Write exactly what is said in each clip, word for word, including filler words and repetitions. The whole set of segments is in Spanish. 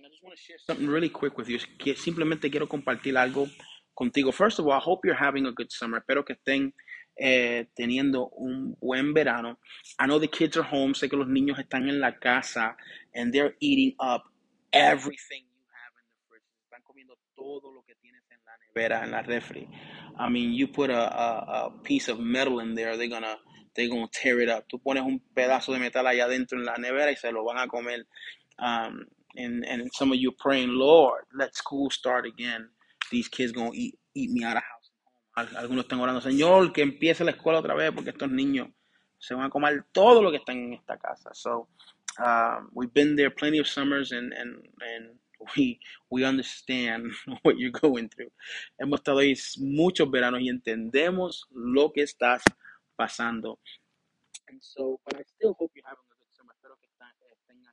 just want to share something really quick with you. Que simplemente quiero compartir algo contigo. First of all, I hope you're having a good summer. Espero que estén eh, teniendo un buen verano. I know the kids are home. Sé que los niños están en la casa and they're eating up everything you have in the fridge. Están comiendo todo lo que tienes en la nevera, en la refri. I mean, you put a, a, a piece of metal in there, they're gonna, they're gonna tear it up. Tú pones un pedazo de metal allá adentro en la nevera y se lo van a comer. Um, and, and some of you praying, Lord, let school start again. These kids gonna eat, eat me out of house. Algunos están orando, Señor, que empiece la escuela otra vez porque estos niños se van a comer todo lo que están en esta casa. So, um, we've been there plenty of summers and, and, and we, we understand what you're going through. Hemos estado ahí muchos veranos y entendemos lo que estás pasando. And so, but I still hope you're having a good summer. Espero que están, eh, tengan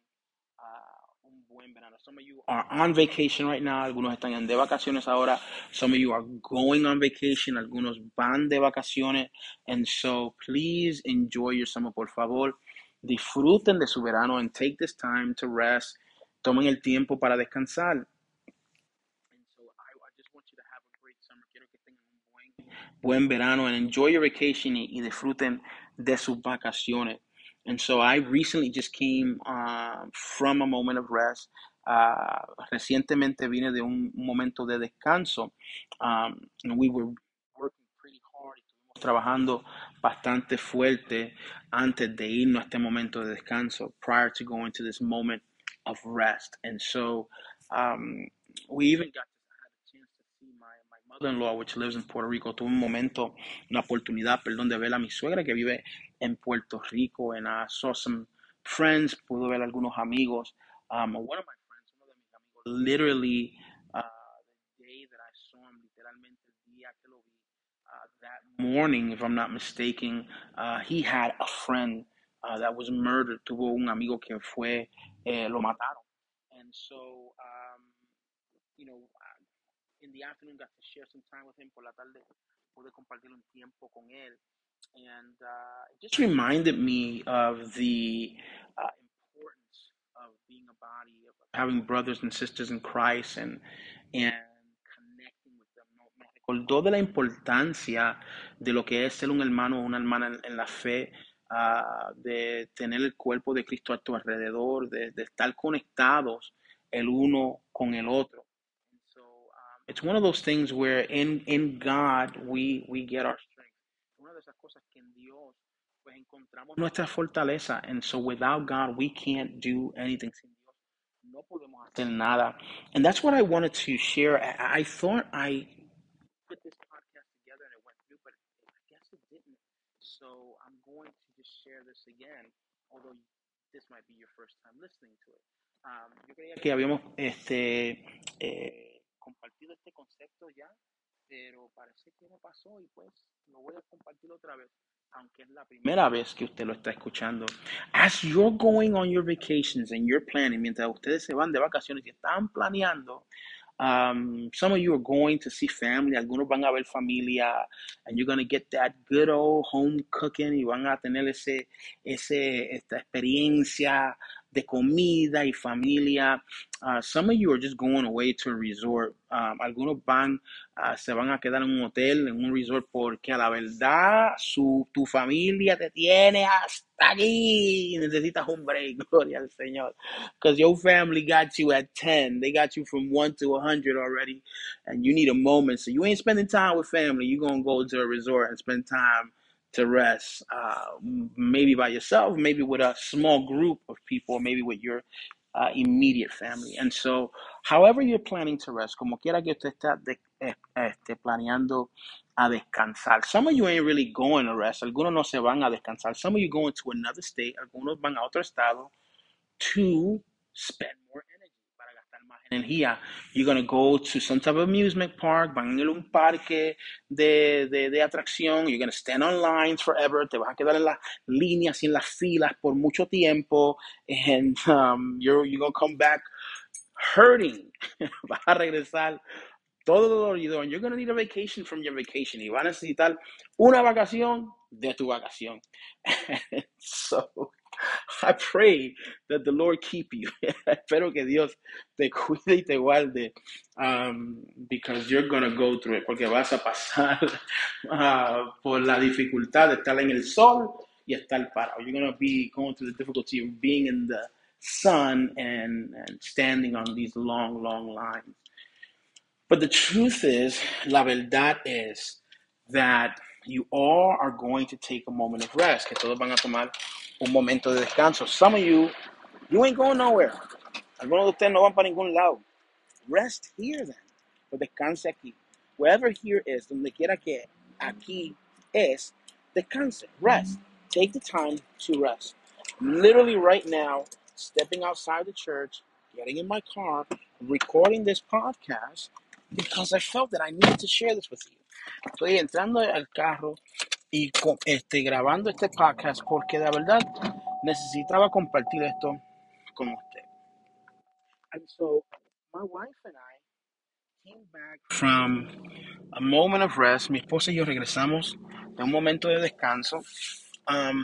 uh, un buen verano. Some of you are on vacation right now. Algunos están en de vacaciones ahora. Some of you are going on vacation. Algunos van de vacaciones. And so, please enjoy your summer, por favor. Disfruten de su verano and take this time to rest. Tomen el tiempo para descansar. And so, I, I just want you to have a great summer. Quiero que tengan un buen, buen verano and enjoy your vacation y, y disfruten de sus vacaciones. And so I recently just came uh, from a moment of rest. Uh, recientemente vine de un, un momento de descanso. Um, and we were working pretty hard. Estuvimos trabajando bastante fuerte antes de irnos a este momento de descanso, prior to going to this moment of rest. And so um, we even got mother-in-law, which lives in Puerto Rico. Tuve un momento, una oportunidad, perdón, de ver a mi suegra que vive en Puerto Rico, and I saw some friends, pude ver algunos amigos. Um, one of my friends, uno de mis amigos, literally, uh, the day that I saw him, literalmente el día que lo vi, uh, that morning, if I'm not mistaken, uh, he had a friend uh, that was murdered. Tuvo un amigo que fue, eh, lo mataron. And so, um, you know, in the afternoon got to share some time with him. Por la tarde pude compartir un tiempo con él. And uh, it just reminded me of the uh, importance of being a body, of having brothers and sisters in Christ and, and connecting with them. ¿No? Me recordó de la importancia de lo que es ser un hermano o una hermana en, en la fe, uh, de tener el cuerpo de Cristo a tu alrededor, de, de estar conectados el uno con el otro. It's one of those things where in, in God we, we get our strength. Una de esas cosas que en Dios pues encontramos nuestra fortaleza. And so without God we can't do anything. Sin Dios no podemos hacer nada. And that's what I wanted to share. I, I thought I put this podcast together and it went through, but I guess it didn't. So I'm going to just share this again, although this might be your first time listening to it. Um, yo creía que habíamos este, eh, compartido este concepto ya, pero parece que no pasó y pues lo voy a compartir otra vez, aunque es la primera vez que usted lo está escuchando. As you're going on your vacations and you're planning, mientras ustedes se van de vacaciones y están planeando, um, some of you are going to see family, algunos van a ver familia, and you're going to get that good old home cooking y van a tener ese, ese, esta experiencia de comida y familia. Uh, some of you are just going away to a resort. Um, algunos van, uh, se van a quedar en un hotel, en un resort, porque a la verdad su, tu familia te tiene hasta aquí. Necesitas un break, gloria al Señor. Because your family got you at ten. They got you from one to one hundred already, and you need a moment. So you ain't spending time with family. You're going to go to a resort and spend time to rest, uh, maybe by yourself, maybe with a small group of people, maybe with your uh, immediate family. And so, however you're planning to rest, como quiera que usted está de, eh, este, planeando a descansar. Some of you ain't really going to rest. Algunos no se van a descansar. Some of you going to another state. Algunos van a otro estado to spend more energy, para gastar más energía. You're going to go to some type of amusement park, van a ir a un parque de, de, de atracción. You're going to stand on lines forever. Te vas a quedar en las líneas y en las filas por mucho tiempo. And um, you're, you're going to come back hurting. Vas a regresar todo dolorido. And you're going to need a vacation from your vacation. Y vas a necesitar una vacación de tu vacación. So I pray that the Lord keep you. Espero que Dios te cuide y te guarde, um, because you're gonna go through it, porque vas a pasar uh, por la dificultad de estar en el sol y estar parado. You're gonna be going through the difficulty of being in the sun and, and standing on these long, long lines. But the truth is, la verdad es that you all are going to take a moment of rest, que todos van a tomar un momento de descanso. Some of you, you ain't going nowhere. Algunos de ustedes no van para ningún lado. Rest here then. Pues descanse aquí. Wherever here is, donde quiera que aquí es, descanse. Rest. Take the time to rest. Literally right now, stepping outside the church, getting in my car, recording this podcast, because I felt that I needed to share this with you. Estoy entrando al carro y este, grabando este podcast porque de verdad necesitaba compartir esto con usted. And so, my wife and I came back from a moment of rest. Mi esposa y yo regresamos de un momento de descanso. Um,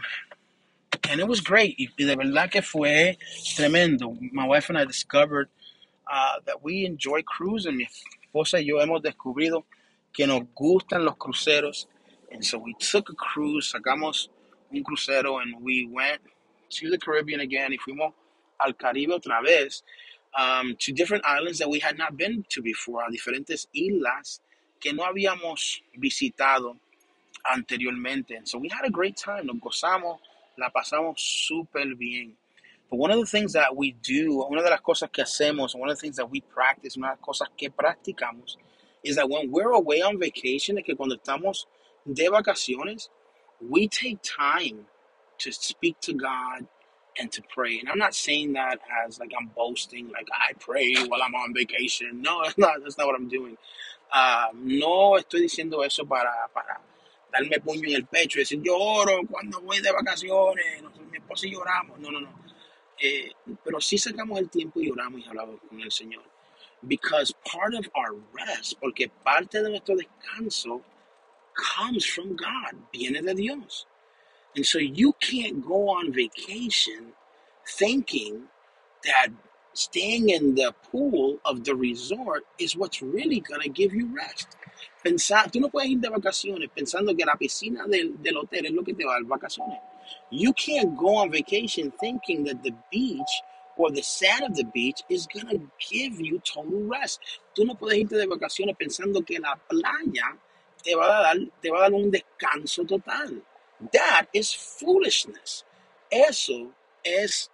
and it was great. Y de verdad que fue tremendo. My wife and I discovered uh, that we enjoy cruising. Mi esposa y yo hemos descubrido que nos gustan los cruceros. And so we took a cruise, sacamos un crucero, and we went to the Caribbean again. Y fuimos al Caribe otra vez, um, to different islands that we had not been to before, a diferentes islas que no habíamos visitado anteriormente. And so we had a great time. Nos gozamos, la pasamos súper bien. But one of the things that we do, una de las cosas que hacemos, one of the things that we practice, una de las cosas que practicamos, is that when we're away on vacation, es que cuando estamos de vacaciones, we take time to speak to God and to pray. And I'm not saying that as like I'm boasting, like I pray while I'm on vacation. No, that's not, that's not what I'm doing. Uh, no estoy diciendo eso para, para darme puño en el pecho y decir yo oro cuando voy de vacaciones, nosotros, mi esposa y lloramos. No, no, no. Eh, pero sí sacamos el tiempo y oramos y hablamos con el Señor. Because part of our rest, porque parte de nuestro descanso comes from God, viene de Dios. And so you can't go on vacation thinking that staying in the pool of the resort is what's really going to give you rest. Pensar, tú no puedes ir de vacaciones pensando que la piscina del, del hotel es lo que te va a dar vacaciones. You can't go on vacation thinking that the beach or the sand of the beach is going to give you total rest. Tú no puedes irte de vacaciones pensando que la playa te va a dar, te va a dar un descanso total. That is foolishness. Eso es,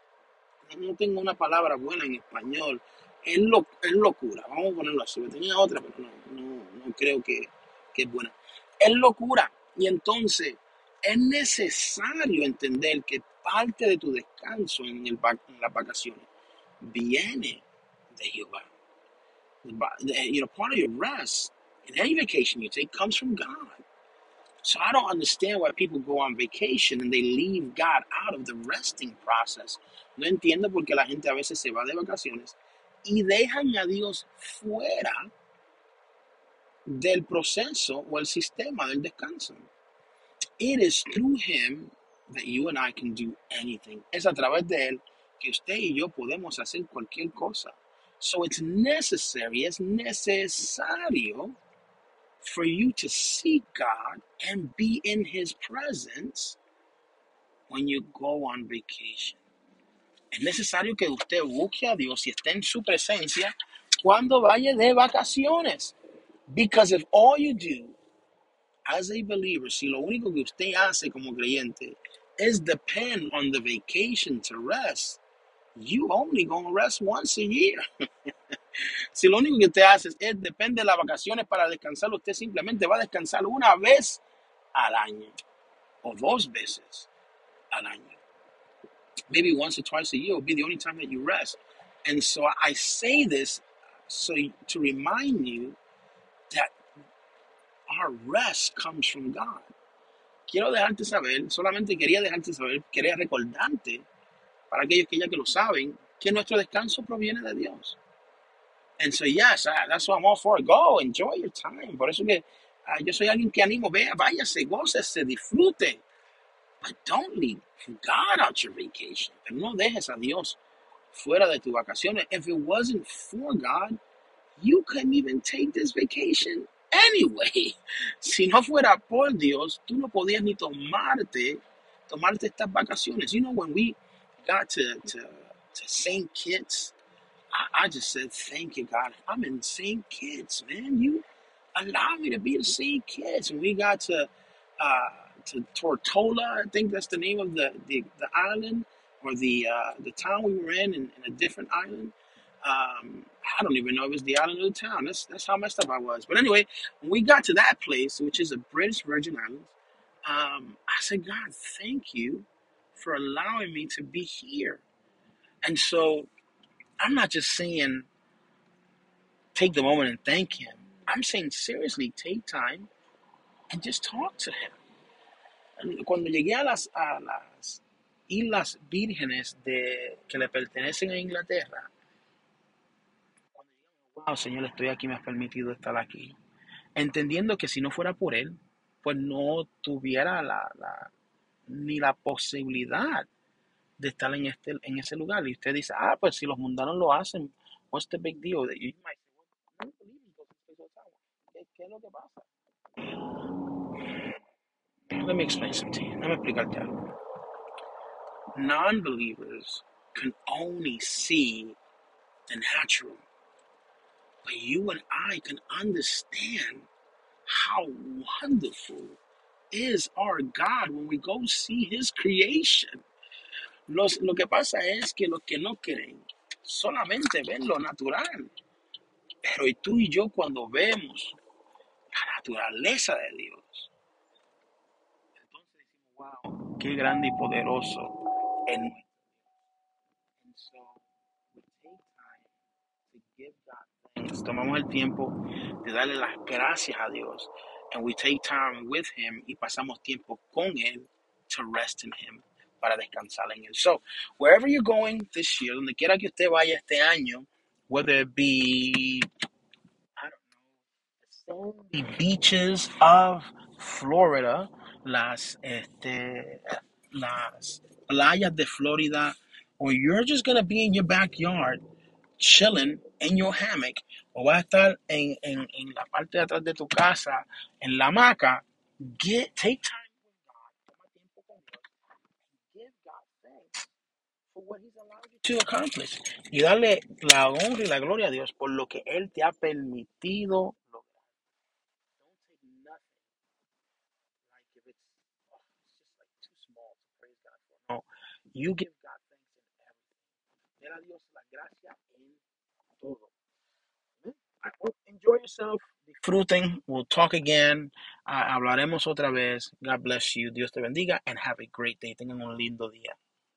no tengo una palabra buena en español, es, lo, es locura. Vamos a ponerlo así. Tenía otra, pero no, no, no creo que, que es buena. Es locura. Y entonces es necesario entender que parte de tu descanso en, el, en las vacaciones viene de Jehová. You know, part of your rest in any vacation you take comes from God. So I don't understand why people go on vacation and they leave God out of the resting process. No entiendo por qué la gente a veces se va de vacaciones y dejan a Dios fuera del proceso o el sistema del descanso. It is through Him that you and I can do anything. Es a través de Él que usted y yo podemos hacer cualquier cosa. So it's necessary, es necesario for you to seek God and be in His presence when you go on vacation. Es necesario que usted busque a Dios y esté en su presencia cuando vaya de vacaciones. Because if all you do as a believer, si lo único que usted hace como creyente is depend on the vacation to rest, you only gonna rest once a year. Si lo único que usted hace es depende de las vacaciones para descansar, usted simplemente va a descansar una vez al año o dos veces al año. Maybe once or twice a year will be the only time that you rest. And so I say this so to remind you that our rest comes from God. Quiero dejarte saber, solamente quería dejarte saber, quería recordarte, para aquellos que ya que lo saben, que nuestro descanso proviene de Dios. And so, yes, I, that's what I'm all for. Go, enjoy your time. Por eso que uh, yo soy alguien que animo, vea, váyase, gócese, disfrute. But don't leave God out your vacation. Pero no dejes a Dios fuera de tus vacaciones. If it wasn't for God, you couldn't even take this vacation anyway. Si no fuera por Dios, tú no podías ni tomarte, tomarte estas vacaciones. You know, when we got to, to, to Saint Kitts, I, I just said, thank you, God. I'm in Saint Kitts, man. You allow me to be in Saint Kitts. And we got to uh, to Tortola, I think that's the name of the, the, the island or the uh, the town we were in, in, in a different island. Um, I don't even know if it's the island or the town. That's that's how messed up I was. But anyway, when we got to that place, which is the British Virgin Islands, um, I said, God, thank you for allowing me to be here. And so I'm not just saying take the moment and thank him. I'm saying seriously, take time and just talk to him. Cuando llegué a las, a las Islas Vírgenes de, que le pertenecen a Inglaterra, wow, Señor, estoy aquí, me has permitido estar aquí. Entendiendo que si no fuera por Él, pues no tuviera la, la, ni la posibilidad de estar en, este, en ese lugar. Y usted dice, ah, pues si los mundanos lo hacen, what's the big deal? You might say, well, ¿Qué, ¿Qué es lo que pasa? Let me explain something to you. Let me explicarte algo. Non-believers can only see the natural. But you and I can understand how wonderful is our God when we go see His creation. Los, lo que pasa es que los que no creen solamente ven lo natural. Pero y tú y yo cuando vemos la naturaleza de Dios, entonces decimos, wow, qué grande y poderoso es nuestro. And so we take time to give God thanks. Tomamos el tiempo de darle las gracias a Dios. And we take time with Him y pasamos tiempo con Él to rest in Him, para descansar en Él. So, wherever you're going this year, donde quiera que usted vaya este año, whether it be, I don't know, the sandy beaches of Florida, las, este, las playas de Florida, or you're just going to be in your backyard, chilling in your hammock, o vas a estar en, en, en la parte de atrás de tu casa, en la hamaca, get, take time with God, toma tiempo con Dios, give God thanks for what He's allowed you to accomplish. Y darle la honra y la gloria a Dios por lo que Él te ha permitido lograr. Don't take nothing like if it's, oh, it's just like too small to praise God for. No, you give God thanks in everything. Dale a Dios la gracia en todo. Enjoy yourself. Disfruten. We'll talk again. Uh, hablaremos otra vez. God bless you. Dios te bendiga. And have a great day. Tengan un lindo día.